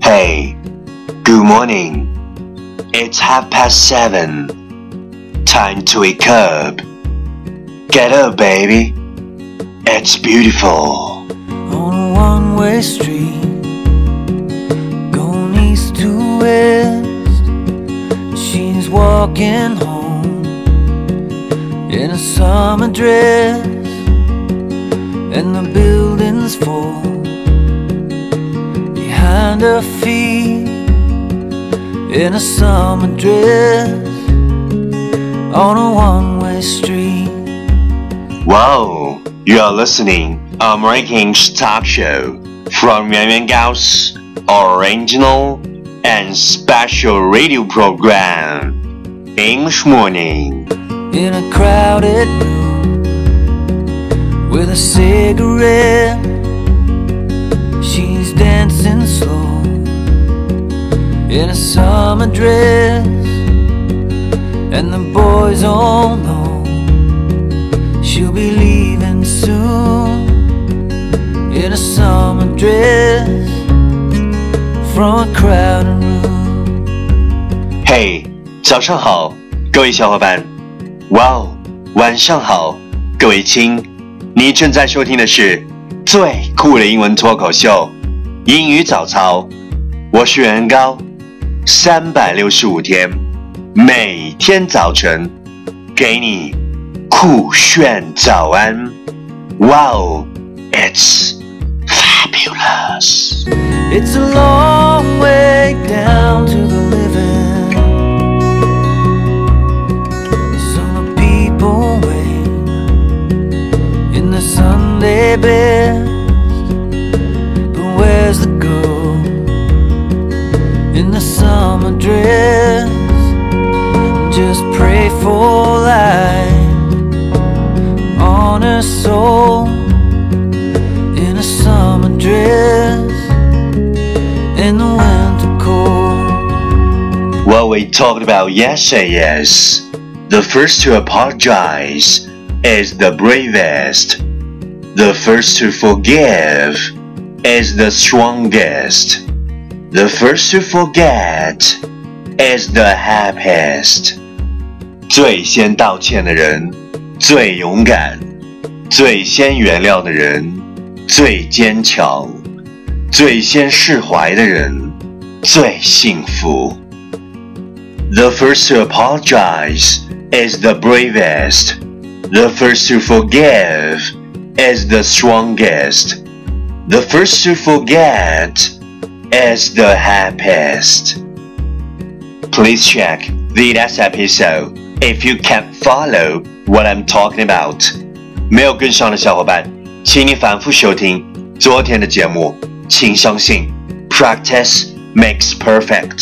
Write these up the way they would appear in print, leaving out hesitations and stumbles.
Hey, good morning. It's 7:30. Time to wake up. Get up, baby. It's beautiful. On a one-way street, going east to west, she's walking home in a summer dress, and the buildings fall behind her feet in a summer dress on a one-way street. Wow, you are listening American talk show from Yuan Yuan Gao's original and special radio program, English Morning. In a crowded room with a cigarette, she's dancing slow in a summer dress, and the boys all know she'll be leaving soon in a summer dress from a crowded room. Hey, 早上好，各位小伙伴。Wow， 晚上好，各位亲。你正在收听的是最酷的英文脱口秀英语早操。我是袁高，365天，每天早晨给你酷炫早安。Wow， it's fabulous. It's a long way down to the living. Some people wait in the Sunday best, but where's the girl in the summer dress? Just pray for light on her soul in a summer dress in the winter cold. What we talked about yesterday is the first to apologize is the bravest. The first to forgive is the strongest. The first to forget is the happiest. 最先道歉的人最勇敢，最先原谅的人最坚强，最先释怀的人最幸福。The first to apologize is the bravest. The first to forgive is the strongest. The first to forget is the happiest. Please check the last episode if you can't follow what I'm talking about. 没有跟上的小伙伴，请你反复收听昨天的节目。请相信 practice makes perfect.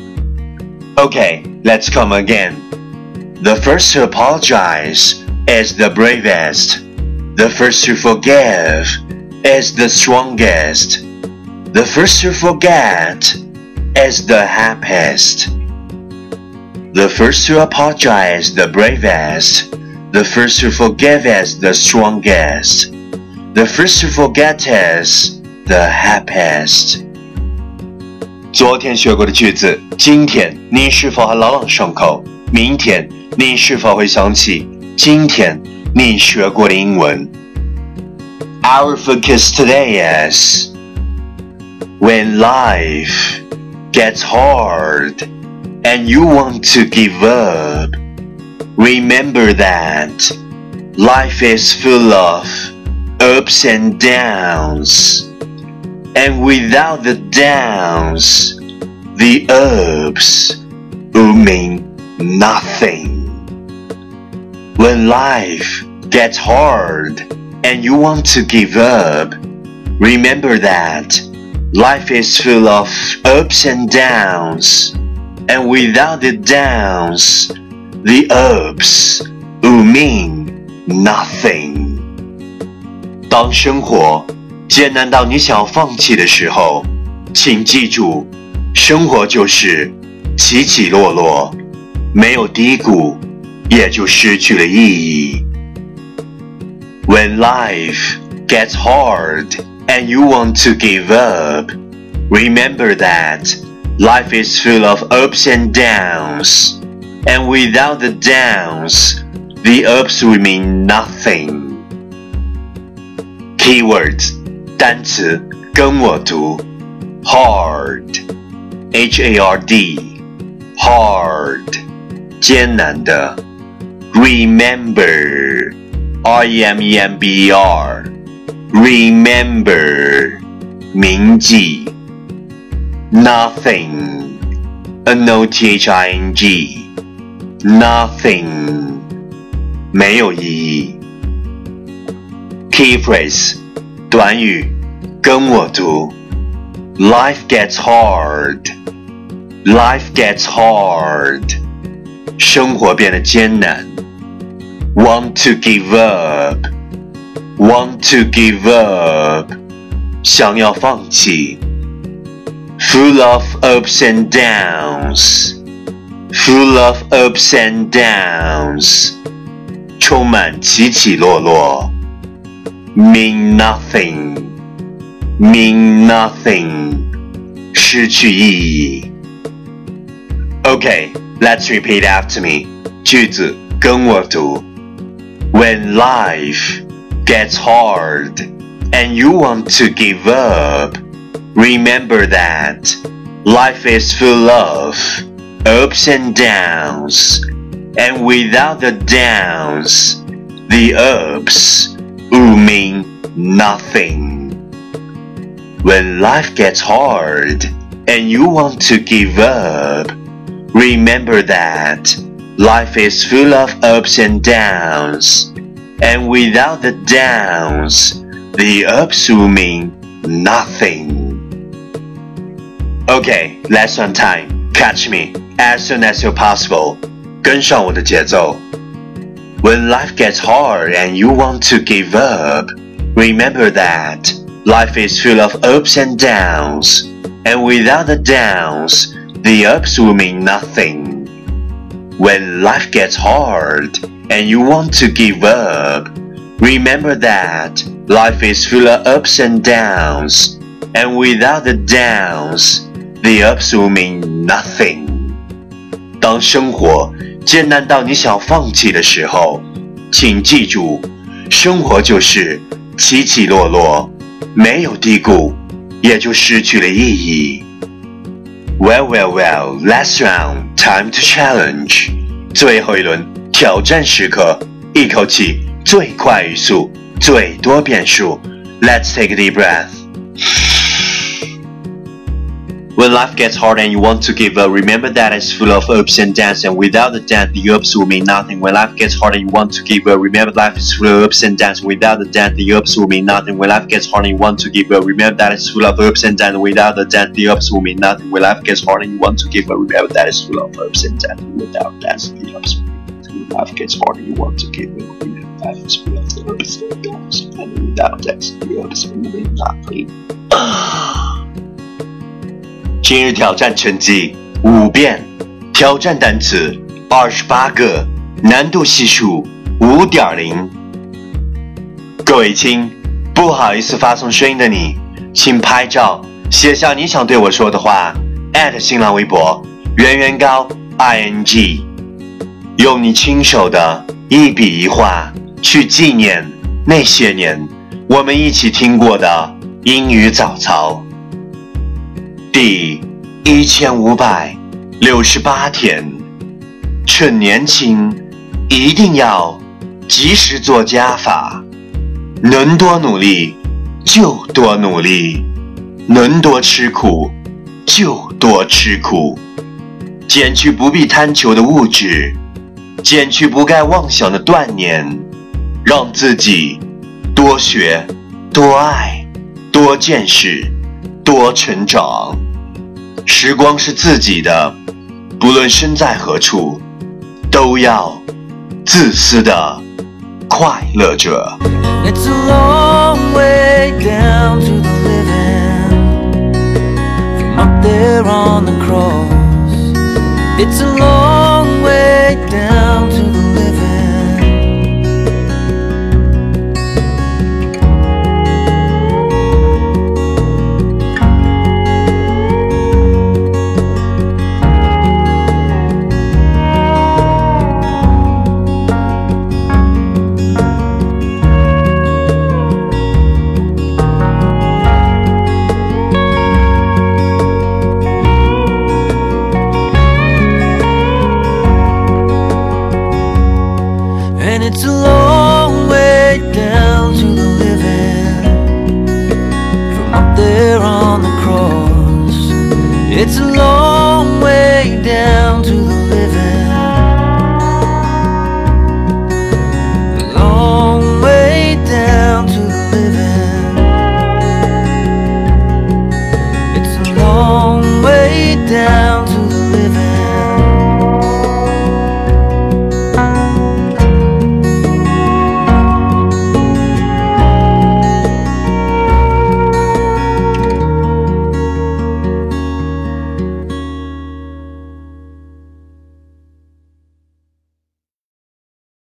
Okay, let's come again. The first to apologize is the bravest. The first to forgive is the strongest. The first to forget is the happiest. The first to apologize is the bravest. The first to forgive is the strongest. The first to forget is the happiest. 昨天学过的句子，今天你是否还朗朗上口？明天你是否会想起今天你学过的英文？ Our focus today is when life gets hard and you want to give up, remember that life is full of ups and downs, and without the downs, the ups will mean nothing. When life gets hard and you want to give up, remember that life is full of ups and downs, and without the downs, the ups will mean nothing. 当生活艰难到你想要放弃的时候，请记住，生活就是起起落落，没有低谷，也就失去了意义。When life gets hard and you want to give up, Remember that life is full of ups and downs, and without the downs, the ups will mean nothing. Keywords 单词跟我读 hard H-A-R-D hard 艰难的 remember R-E-M-E-M-B-E-R remember 铭记 nothing N-O-T-H-I-N-G nothing 没有意义 Key phrase 短语跟我读 Life gets hard Life gets hard 生活变得艰难 Want to give up Want to give up 想要放弃 Full of ups and downs Full of ups and downs 充满起起落落 Mean nothing Mean nothing 失去意义 Okay, let's repeat after me 句子跟我读 When life gets hard and you want to give up Remember that life is full of ups and downs And without the downs The ups will mean nothing When life gets hard and you want to give up Remember that life is full of ups and downs And without the downs The ups will mean nothing Okay, lesson time. Catch me as soon as you're possible. 跟上我的节奏 When life gets hard and you want to give up Remember that life is full of ups and downs And without the downs The ups will mean nothing When life gets hard and you want to give up Remember that life is full of ups and downs And without the downs The ups will mean nothing 当生活艰难到你想放弃的时候请记住生活就是起起落落没有低谷也就失去了意义 Well, last round, time to challenge 最后一轮挑战时刻一口气最快语速最多变数 Let's take a deep breath When life gets hard and you want to give up, remember that it's full of ups and downs, and without the downs, the ups will mean nothing. When life gets hard and you want to give up, remember life is full of ups and downs, without the downs, the ups will mean nothing. When life gets hard and you want to give up, remember that it's full of ups and downs, without the downs, the ups will mean nothing. When life gets hard and you want to give up, remember that it's full of ups and downs, without downs, the ups will mean nothing. When life gets hard and you want to give up, remember that it's full of ups and downs, and without downs, the ups will mean nothing. 今日挑战成绩5遍，挑战单词28个，难度系数5.0。各位亲，不好意思发送声音的你，请拍照写下你想对我说的话，@新浪微博圆圆高 ing， 用你亲手的一笔一画去纪念那些年我们一起听过的英语早操。第1568天，趁年轻一定要及时做加法，能多努力就多努力，能多吃苦就多吃苦，减去不必贪求的物质，减去不该妄想的断念，让自己多学多爱多见识多成长。时光是自己的，不论身在何处，都要自私的快乐着。 It's a long way down to the living From up there on the cross It's a long way down to the living It's a long